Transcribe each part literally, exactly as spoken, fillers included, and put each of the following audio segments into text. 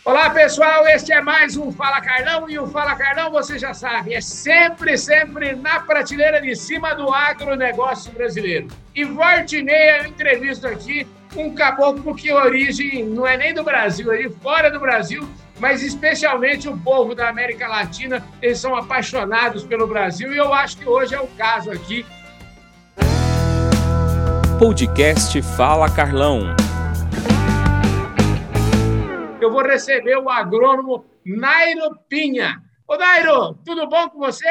Olá, pessoal, este é mais um Fala Carlão, e o Fala Carlão, você já sabe, é sempre, sempre na prateleira de cima do agronegócio brasileiro. E volta e meia eu entrevisto aqui um caboclo que a origem não é nem do Brasil, é de fora do Brasil, mas especialmente o povo da América Latina, eles são apaixonados pelo Brasil, e eu acho que hoje é o caso aqui. Podcast Fala Carlão. Eu vou receber o agrônomo Nairo Pinha. Ô, Nairo, tudo bom com você?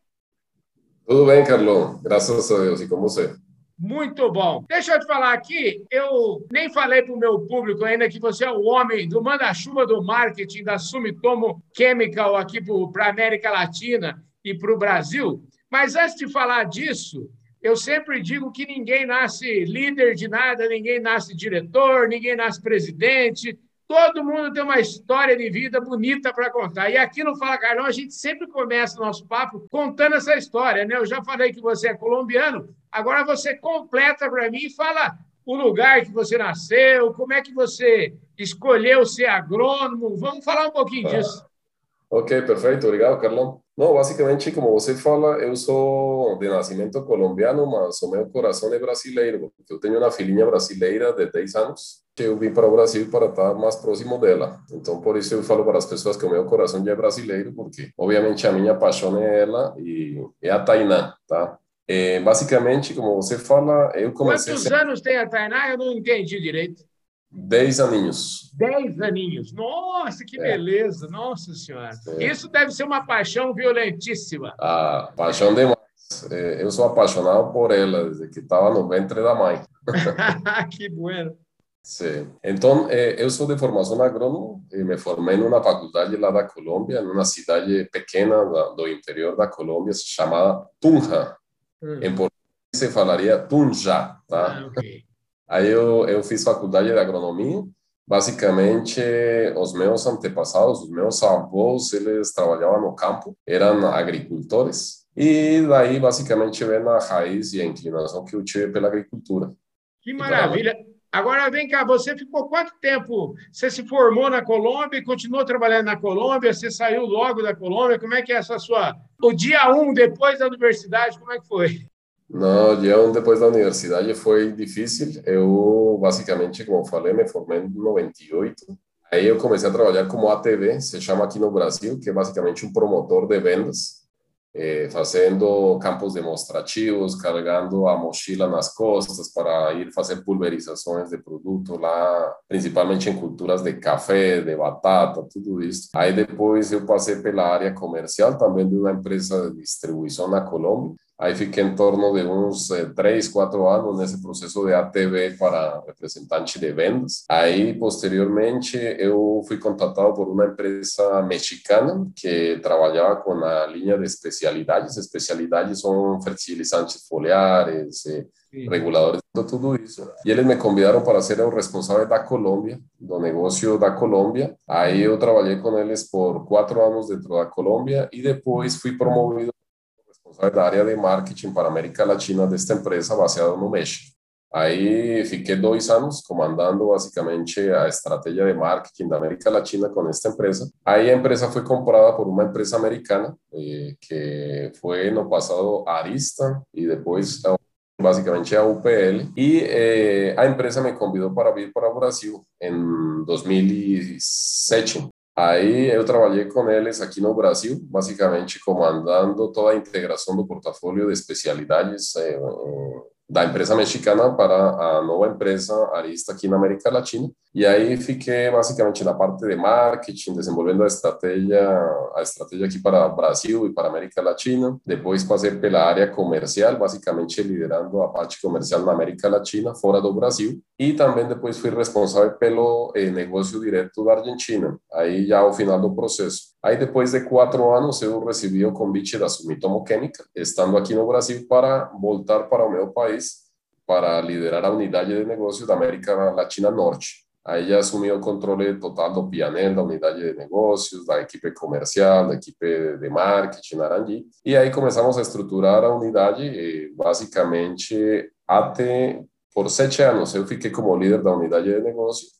Tudo bem, Carlão. Graças a Deus. E com você? Muito bom. Deixa eu te falar aqui, eu nem falei para o meu público ainda que você é o homem do manda-chuva do marketing da Sumitomo Chemical aqui para a América Latina e para o Brasil. Mas antes de falar disso, eu sempre digo que ninguém nasce líder de nada, ninguém nasce diretor, ninguém nasce presidente. Todo mundo tem uma história de vida bonita para contar. E aqui no Fala Carlão, a gente sempre começa o nosso papo contando essa história, né? Eu já falei que você é colombiano, agora você completa para mim e fala o lugar que você nasceu, como é que você escolheu ser agrônomo. Vamos falar um pouquinho Ah, disso. ok, perfeito. Obrigado, Carlão. Não, basicamente, como você fala, eu sou de nascimento colombiano, mas o meu coração é brasileiro. Eu tenho uma filhinha brasileira de dez anos. Eu vim para o Brasil para estar mais próximo dela. Então, por isso eu falo para as pessoas que o meu coração já é brasileiro, porque, obviamente, a minha paixão é ela e é a Tainá, tá? É, basicamente, como você fala, eu comecei... Quantos anos tem a Tainá? Eu não entendi direito. Dez aninhos. Dez aninhos. Nossa, que É. beleza. Nossa Senhora. Sim. Isso deve ser uma paixão violentíssima. Ah, paixão demais. É, eu sou apaixonado por ela desde que estava no ventre da mãe. Que bueno. Sim. Então, eh, eu sou de formação agrônomo e me formei numa faculdade lá da Colômbia, numa cidade pequena da, do interior da Colômbia, chamada Tunja. Hum. Em português se falaria Tunja, tá? Ah, ok. Aí eu, eu fiz faculdade de agronomia. Basicamente, os meus antepassados, os meus avós, eles trabalhavam no campo, eram agricultores. E daí, basicamente, vem a raiz e a inclinação que eu tive pela agricultura. Que E maravilha. Agora, vem cá, você ficou quanto tempo? Você se formou na Colômbia e continuou trabalhando na Colômbia? Você saiu logo da Colômbia? Como é que é essa sua... O dia um, depois da universidade, como é que foi? Não, eu depois da universidade foi difícil. Eu, basicamente, como eu falei, me formei em noventa e oito. Aí eu comecei a trabalhar como A T V, se chama aqui no Brasil, que é basicamente um promotor de vendas. Eh, fazendo campos demonstrativos, carregando a mochila nas costas para ir fazer pulverizações de produto lá, principalmente em culturas de café, de batata, tudo isso. Aí depois eu passei pela área comercial, também de uma empresa de distribuição na Colômbia. Aí fiquei em torno de uns eh, três, quatro anos nesse processo de A T V para representante de vendas. Aí, posteriormente, eu fui contratado por uma empresa mexicana que trabalhava com a linha de especialidades. Especialidades são fertilizantes foliares, eh, reguladores, tudo isso. E eles me convidaram para ser o responsável da Colômbia, do negócio da Colômbia. Aí eu trabalhei com eles por quatro anos dentro da Colômbia e depois fui promovido da área de marketing para a América Latina desta empresa baseada no México. Aí fiquei dois anos comandando basicamente a estratégia de marketing da América Latina com esta empresa. Aí a empresa foi comprada por uma empresa americana, eh, que foi no passado Arista e depois basicamente a U P L. E eh, a empresa me convidou para vir para o Brasil em dois mil e sete. Aí eu trabalhei com eles aqui no Brasil, basicamente comandando toda a integração do portfólio de especialidades eh, da empresa mexicana para a nova empresa Arista aqui na América Latina. E aí fiquei basicamente na parte de marketing, desenvolvendo a estratégia, a estratégia aqui para o Brasil e para a América Latina. Depois passei pela área comercial, basicamente liderando a parte comercial na América Latina, fora do Brasil. E também depois fui responsável pelo eh, negócio direto da Argentina, aí já ao final do processo. Aí depois de quatro anos eu recebi o convite da Sumitomo Chemical, estando aqui no Brasil, para voltar para o meu país, para liderar a unidade de negócio da América Latina Norte. Aí já assumi o controle total do P and L, da unidade de negócios, da equipe comercial, da equipe de marketing, Naranji. E aí começamos a estruturar a unidade, e basicamente até por sete anos eu fiquei como líder da unidade de negócio.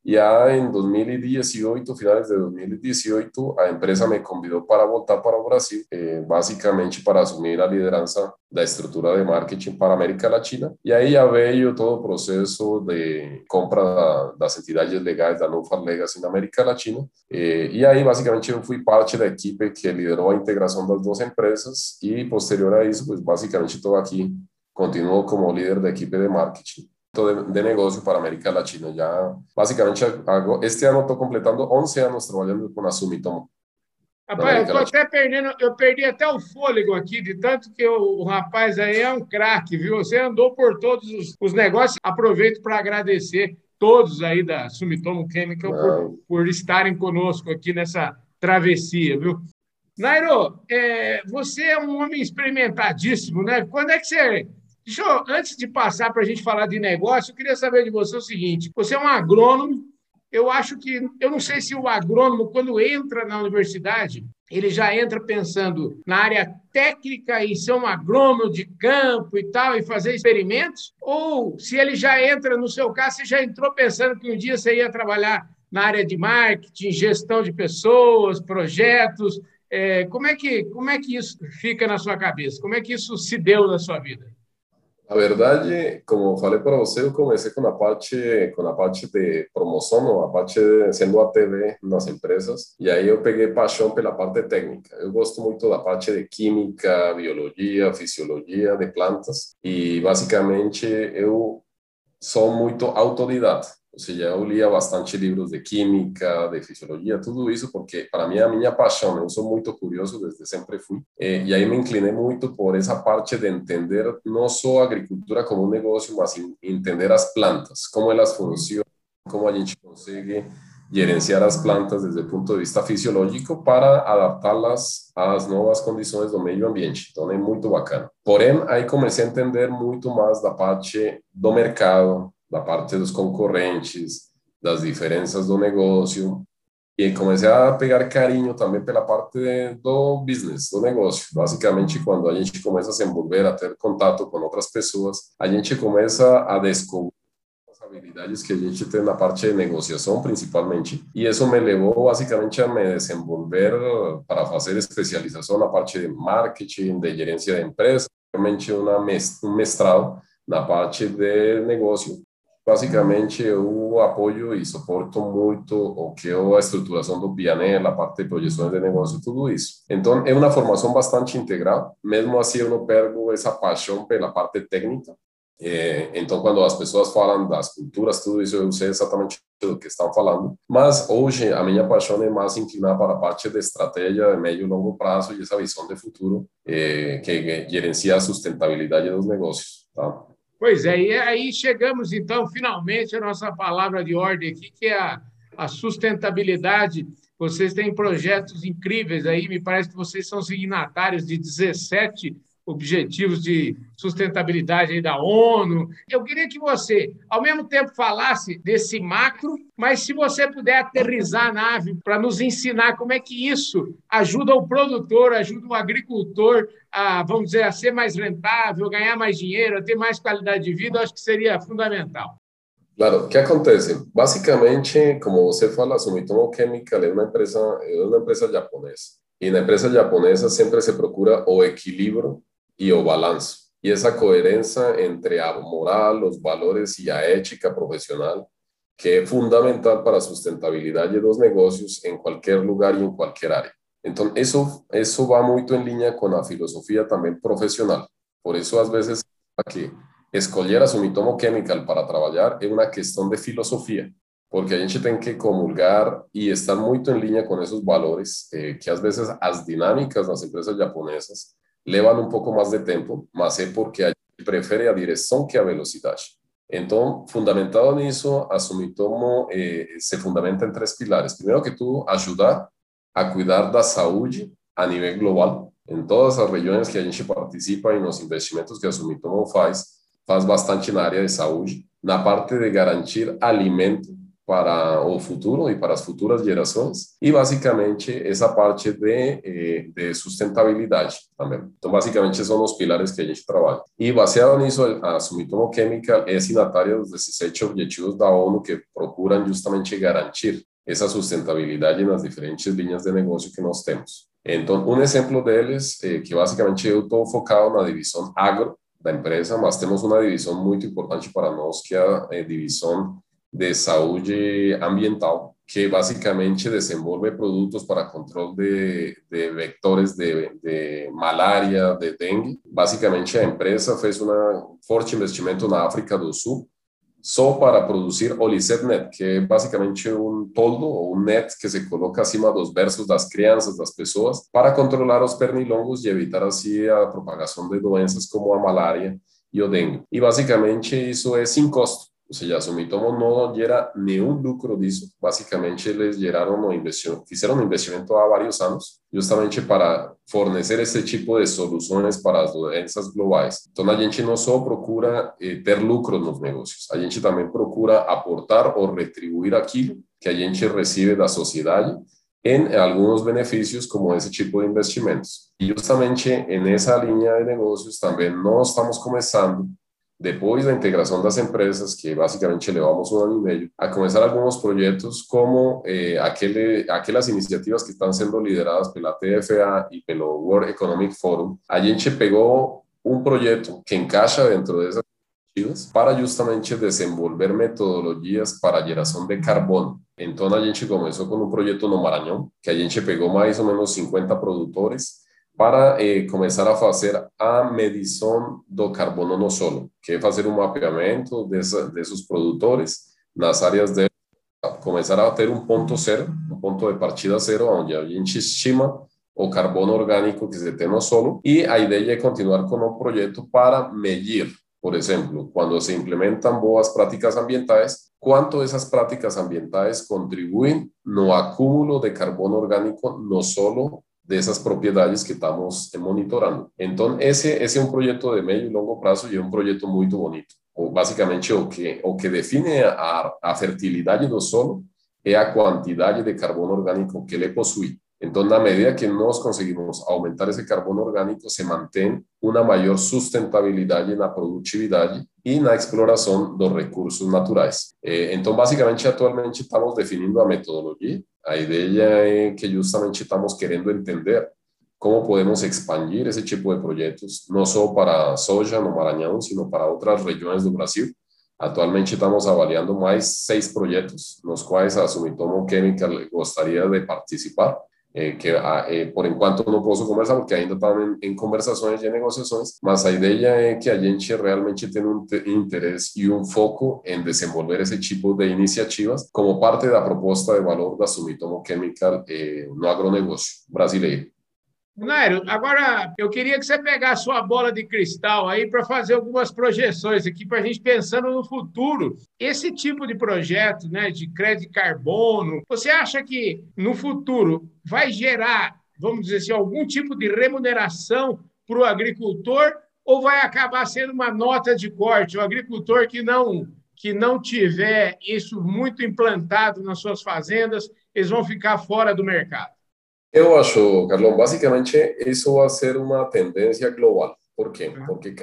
E aí, em dois mil e dezoito, finales de dois mil e dezoito, a empresa me convidou para voltar para o Brasil, eh, basicamente para assumir a liderança da estrutura de marketing para a América Latina. E aí já veio todo o processo de compra das entidades legais da Nufar Legacy na América Latina. Eh, e aí, basicamente, eu fui parte da equipe que liderou a integração das duas empresas e, posterior a isso, pues, basicamente estou aqui, continuo como líder da equipe de marketing de, de negocio para América Latina. Ya, básicamente, hago, este ano estou completando onze anos trabalhando com a Sumitomo. Rapaz, eu tô até perdendo, eu perdi até o fôlego aqui, de tanto que o, o rapaz aí é um craque, viu? Você andou por todos os, os negócios. Aproveito para agradecer todos aí da Sumitomo Chemical por, por estarem conosco aqui nessa travessia, viu? Nairo, é, você é um homem experimentadíssimo, né? Quando é que você... Deixa eu, antes de passar para a gente falar de negócio, eu queria saber de você o seguinte: você é um agrônomo. Eu acho que, eu não sei se o agrônomo, quando entra na universidade, ele já entra pensando na área técnica e ser um agrônomo de campo e tal, e fazer experimentos, ou se ele já entra, no seu caso, você já entrou pensando que um dia você ia trabalhar na área de marketing, gestão de pessoas, projetos. É, como é que, como é que isso fica na sua cabeça? Como é que isso se deu na sua vida? A verdade, como falei para você, eu comecei com a parte com a parte de promoção, a parte de, sendo A T V nas empresas, e aí eu peguei paixão pela parte técnica. Eu gosto muito da parte de química, biologia, fisiologia de plantas, e basicamente eu sou muito autodidata. Ou seja, eu lia bastante livros de química, de fisiologia, tudo isso, porque para mim é a minha paixão. Eu sou muito curioso, desde sempre fui. E aí me inclinei muito por essa parte de entender não só a agricultura como um negócio, mas entender as plantas, como elas funcionam, como a gente consegue gerenciar as plantas desde o ponto de vista fisiológico para adaptá-las às novas condições do meio ambiente. Então é muito bacana. Porém, aí comecei a entender muito mais da parte do mercado, da parte dos concorrentes, das diferenças do negócio, e comecei a pegar carinho também pela parte do business, do negócio. Basicamente, quando a gente começa a se envolver, a ter contato com outras pessoas, a gente começa a descobrir as habilidades que a gente tem na parte de negociação, principalmente, e isso me levou basicamente a me desenvolver para fazer especialização na parte de marketing, de gerência de empresas, realmente uma um mestrado na parte de negócio. Basicamente, eu apoio e suporto muito o que é a estruturação do P and L, a parte de projeções de negócio, tudo isso. Então, é uma formação bastante integral. Mesmo assim, eu não perco essa paixão pela parte técnica. Então, quando as pessoas falam das culturas, tudo isso, eu sei exatamente do que estão falando. Mas, hoje, a minha paixão é mais inclinar para a parte de estratégia de médio e longo prazo e essa visão de futuro que gerencia a sustentabilidade dos negócios, tá? Pois é, e aí chegamos, então, finalmente, à nossa palavra de ordem aqui, que é a, a sustentabilidade. Vocês têm projetos incríveis aí, me parece que vocês são signatários de dezessete objetivos de sustentabilidade aí da ONU. Eu queria que você, ao mesmo tempo, falasse desse macro, mas se você puder aterrissar a nave para nos ensinar como é que isso ajuda o produtor, ajuda o agricultor a, vamos dizer, a ser mais rentável, ganhar mais dinheiro, a ter mais qualidade de vida, eu acho que seria fundamental. Claro, o que acontece? Basicamente, como você fala, a Sumitomo Chemical é uma empresa, é uma empresa japonesa. E na empresa japonesa sempre se procura o equilíbrio e o balanço. E essa coerência entre a moral, os valores e a ética profissional, que é fundamental para a sustentabilidade dos negócios em qualquer lugar e em qualquer área. Então, isso, isso vai muito em linha com a filosofia também profissional. Por isso, às vezes, aqui, escolher a Sumitomo Chemical para trabalhar é uma questão de filosofia, porque a gente tem que comulgar e estar muito em linha com esses valores, eh, que às vezes as dinâmicas das empresas japonesas levam um pouco mais de tempo, mas é porque a gente prefere a direção que a velocidade. Então, fundamentado nisso, a Sumitomo eh, se fundamenta em três pilares. Primeiro que tudo, ajudar a cuidar da saúde a nível global. Em todas as regiões que a gente participa e nos investimentos que a Sumitomo faz, faz bastante na área de saúde, na parte de garantir alimento para o futuro e para as futuras gerações, e basicamente essa parte de, eh, de sustentabilidade também. Então, basicamente, são os pilares que a gente trabalha. E baseado nisso, a Sumitomo Chemical é signatária dos dezessete Objetivos da ONU que procuram justamente garantir essa sustentabilidade nas diferentes linhas de negócio que nós temos. Então, um exemplo deles, eh, que basicamente eu estou focado na divisão agro da empresa, mas temos uma divisão muito importante para nós, que é a eh, divisão de saúde ambiental, que basicamente desenvolve produtos para controle de, de vectores de, de malária, de dengue. Basicamente, a empresa fez um forte investimento na África do Sul, só para produzir Olicet Net, que é basicamente um toldo ou um net que se coloca acima dos berços das crianças, das pessoas, para controlar os pernilongos e evitar assim a propagação de doenças como a malária e o dengue. E basicamente isso é sem custo. Ou seja, a Sumitomo não gera nenhum lucro disso. Basicamente, eles geraram um investimento, fizeram um investimento há vários anos, justamente para fornecer esse tipo de soluções para as doenças globais. Então, a gente não só procura eh, ter lucro nos negócios, a gente também procura aportar ou retribuir aquilo que a gente recebe da sociedade em alguns benefícios, como esse tipo de investimentos. E justamente nessa linha de negócios também nós estamos começando, depois da integração das empresas, que basicamente levamos um ano e meio, a começar alguns projetos como eh, aquele, aquelas iniciativas que estão sendo lideradas pela T F A e pelo World Economic Forum. A gente pegou um projeto que encaixa dentro dessas iniciativas para justamente desenvolver metodologias para a geração de carbono. Então, a gente começou com um projeto no Maranhão, que a gente pegou mais ou menos cinquenta produtores para eh, começar a fazer a medição do carbono no solo, que é fazer um mapeamento dessa, desses produtores nas áreas de começar a ter um ponto zero, um ponto de partida zero, onde a gente estima o carbono orgânico que se tem no solo, e a ideia é continuar com o projeto para medir, por exemplo, quando se implementam boas práticas ambientais, quanto essas práticas ambientais contribuem no acúmulo de carbono orgânico no solo dessas propriedades que estamos monitorando. Então, esse, esse é um projeto de médio e longo prazo e é um projeto muito bonito. Basicamente, o que, o que define a, a fertilidade do solo é a quantidade de carbono orgânico que ele possui. Então, na medida que nós conseguimos aumentar esse carbono orgânico, se mantém uma maior sustentabilidade na produtividade e na exploração dos recursos naturais. Então, basicamente, atualmente estamos definindo a metodologia. A ideia é que justamente estamos querendo entender como podemos expandir esse tipo de projetos, não só para a soja no Maranhão, sino para outras regiões do Brasil. Atualmente estamos avaliando mais seis projetos, nos quais a Sumitomo Chemical gostaria de participar. Eh, que eh, por enquanto não posso conversar porque ainda estão em, em conversações e negociações, mas a ideia é que a gente realmente tenha um interesse e um foco em desenvolver esse tipo de iniciativas como parte da proposta de valor da Sumitomo Chemical eh, no agronegócio brasileiro. Nairo, agora eu queria que você pegasse sua bola de cristal aí para fazer algumas projeções aqui para a gente pensando no futuro. Esse tipo de projeto, né, de crédito de carbono, você acha que no futuro vai gerar, vamos dizer assim, algum tipo de remuneração para o agricultor ou vai acabar sendo uma nota de corte? O agricultor que não, que não tiver isso muito implantado nas suas fazendas, eles vão ficar fora do mercado. Eu acho, Carlão, basicamente isso vai ser uma tendência global. Por quê? Porque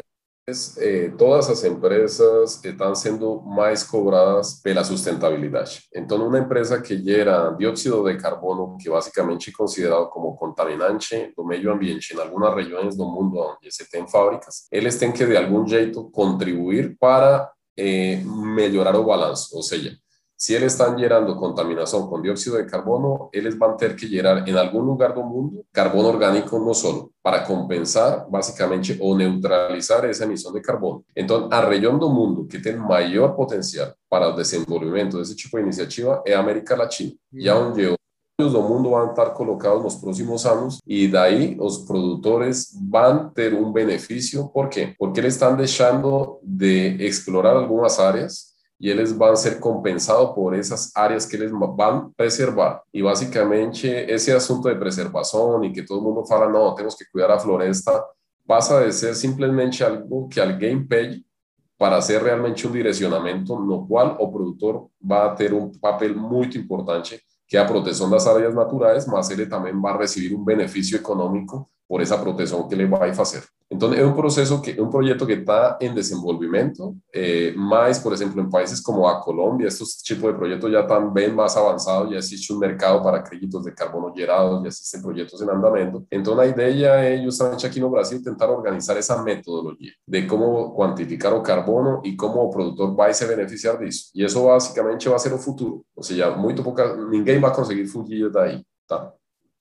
eh, todas as empresas estão sendo mais cobradas pela sustentabilidade. Então, uma empresa que gera dióxido de carbono, que basicamente é considerado como contaminante do meio ambiente em algumas regiões do mundo onde se tem fábricas, eles têm que, de algum jeito, contribuir para eh, melhorar o balanço. Ou seja, se eles estão gerando contaminação com dióxido de carbono, eles vão ter que gerar em algum lugar do mundo carbono orgânico no solo para compensar, basicamente, ou neutralizar essa emissão de carbono. Então, a região do mundo que tem maior potencial para o desenvolvimento desse tipo de iniciativa é a América Latina, uhum. E onde os recursos do mundo vão estar colocados nos próximos anos e daí os produtores vão ter um benefício. Por quê? Porque eles estão deixando de explorar algumas áreas e eles vão ser compensados por essas áreas que eles vão preservar. E, basicamente, esse assunto de preservação e que todo mundo fala, não, temos que cuidar a floresta, passa de ser simplesmente algo que alguém pede para ser realmente um direcionamento no qual o produtor vai ter um papel muito importante, que é a proteção das áreas naturais, mas ele também vai receber um benefício econômico por essa proteção que ele vai fazer. Então, é um processo, que, um projeto que está em desenvolvimento, eh, mas, por exemplo, em países como a Colômbia, esses tipos de projetos já estão bem mais avançados, já existe um mercado para créditos de carbono gerados, já existem projetos em andamento. Então, a ideia é, justamente aqui no Brasil, tentar organizar essa metodologia de como quantificar o carbono e como o produtor vai se beneficiar disso. E isso, basicamente, vai ser o futuro. Ou seja, muito pouca, ninguém vai conseguir fugir daí, tá?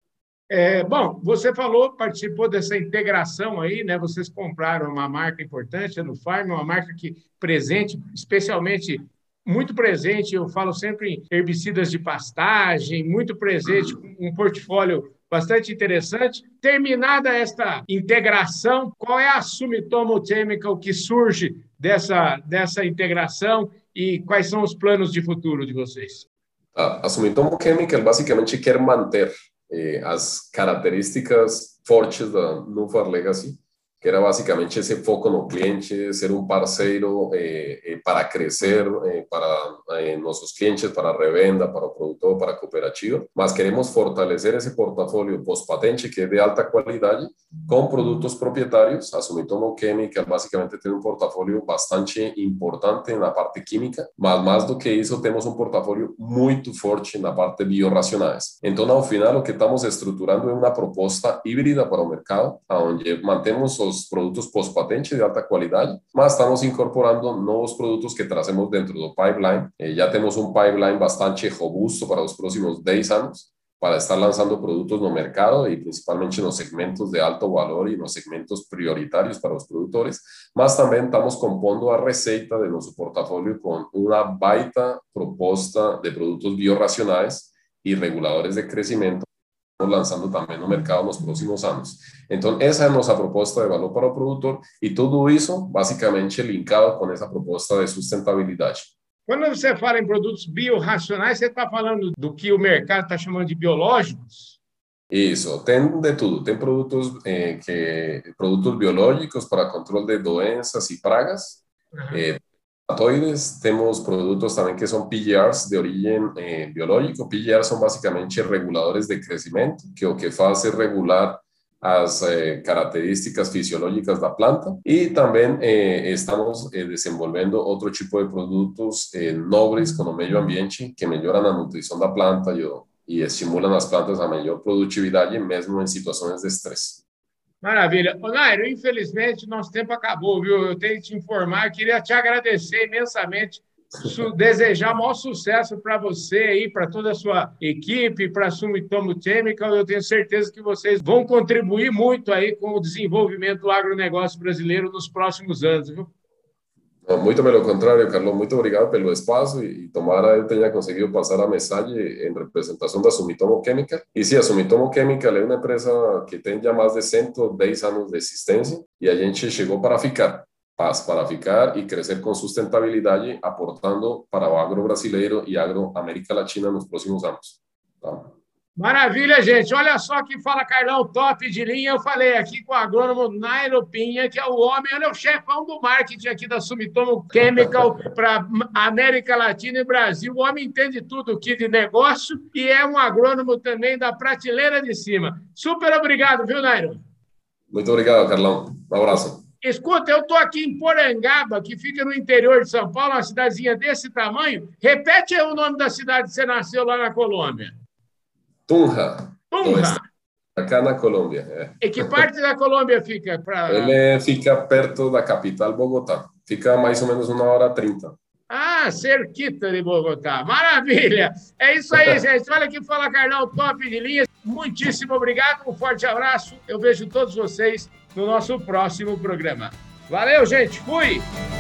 É, bom, você falou, participou dessa integração aí, né? Vocês compraram uma marca importante, a Nufarm, uma marca que presente, especialmente muito presente, eu falo sempre em herbicidas de pastagem, muito presente, um portfólio bastante interessante. Terminada esta integração, qual é a Sumitomo Chemical que surge dessa, dessa integração e quais são os planos de futuro de vocês? A, a Sumitomo Chemical basicamente quer manter Eh, as características fortes da Nufarm Legacy, que era basicamente esse foco no cliente, ser um parceiro eh, eh, para crescer, eh, para eh, nossos clientes, para a revenda, para o produtor, para a cooperativa, mas queremos fortalecer esse portfólio pós-patente, que é de alta qualidade, com produtos proprietários. A Sumitomo Chemical basicamente tem um portfólio bastante importante na parte química, mas mais do que isso, temos um portfólio muito forte na parte de biorracionais. Então, ao final, o que estamos estruturando é uma proposta híbrida para o mercado, onde mantemos os produtos pós-patente de alta qualidade, mas estamos incorporando novos produtos que trazemos dentro do pipeline. Eh, já temos um pipeline bastante robusto para os próximos dez anos, para estar lançando produtos no mercado e principalmente nos segmentos de alto valor e nos segmentos prioritários para os produtores, mas também estamos compondo a receita de nosso portfólio com uma baita proposta de produtos biorracionais e reguladores de crescimento, lançando também no mercado nos próximos anos. Então, essa é a nossa proposta de valor para o produtor e tudo isso, basicamente, linkado com essa proposta de sustentabilidade. Quando você fala em produtos biorracionais, você está falando do que o mercado está chamando de biológicos? Isso, tem de tudo. Tem produtos, eh, que, produtos biológicos para controle de doenças e pragas, uhum. eh, temos produtos também que são P G Rs de origem eh, biológico. P G Rs são basicamente reguladores de crescimento, que o que faz é regular as eh, características fisiológicas da planta. E também eh, estamos eh, desenvolvendo outro tipo de produtos eh, nobres com o meio ambiente, que melhoram a nutrição da planta e, e estimulam as plantas a melhor produtividade, mesmo em situações de estresse. Maravilha. Ô, Nairo, infelizmente, nosso tempo acabou, viu? Eu tenho que te informar, queria te agradecer imensamente, desejar maior sucesso para você aí, para toda a sua equipe, para a Sumitomo Chemical. Eu tenho certeza que vocês vão contribuir muito aí com o desenvolvimento do agronegócio brasileiro nos próximos anos, viu? Muito pelo contrário, Carlos, muito obrigado pelo espaço e tomara eu tenha conseguido passar a mensagem em representação da Sumitomo Chemical. E sim, a Sumitomo Chemical é uma empresa que tem já mais de cento e dez anos de existência e a gente chegou para ficar, para ficar e crescer com sustentabilidade, aportando para o agro brasileiro e agro América Latina nos próximos anos. Tá? Maravilha, gente. Olha só que fala Carlão, top de linha. Eu falei aqui com o agrônomo Nairo Pinha, que é o homem, ele é o chefão do marketing aqui da Sumitomo Chemical para América Latina e Brasil. O homem entende tudo aqui de negócio e é um agrônomo também da prateleira de cima. Super obrigado, viu, Nairo? Muito obrigado, Carlão. Um abraço. Escuta, eu estou aqui em Porangaba, que fica no interior de São Paulo, uma cidadezinha desse tamanho. Repete aí o nome da cidade que você nasceu lá na Colômbia. Tunja. Tunja. Acá na Colômbia. É. E que parte da Colômbia fica? Pra... Ele fica perto da capital, Bogotá. Fica mais ou menos uma hora e trinta. Ah, cerquita de Bogotá. Maravilha. É isso aí, gente. Olha que fala, Carlão, top de linha. Muitíssimo obrigado. Um forte abraço. Eu vejo todos vocês no nosso próximo programa. Valeu, gente. Fui!